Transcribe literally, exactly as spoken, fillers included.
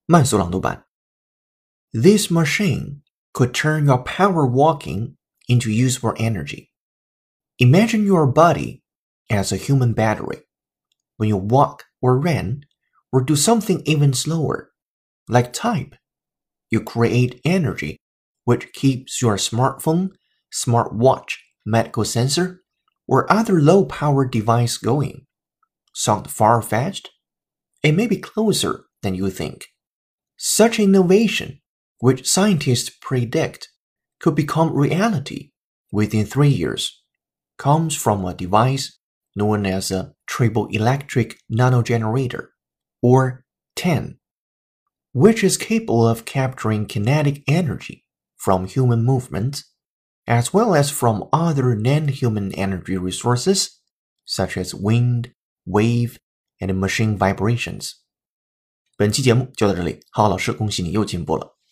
慢速朗读版 This machine could turn your power walking into useful energy. Imagine your body as a human battery. When you walk or run or do something even slower, like type, you create energy which keeps your smartphone, smartwatch, medical sensor, or other low-power device going. Sound far-fetched? It may be closer than you think. Such innovation, which scientists predict could become reality within three years, comes from a device known as a triple electric nanogenerator, or T E N, which is capable of capturing kinetic energy from human movement, as well as from other non-human energy resources, such as wind, wave, and machine vibrations. 本期节目就到这里，浩浩老师恭喜你又进步了。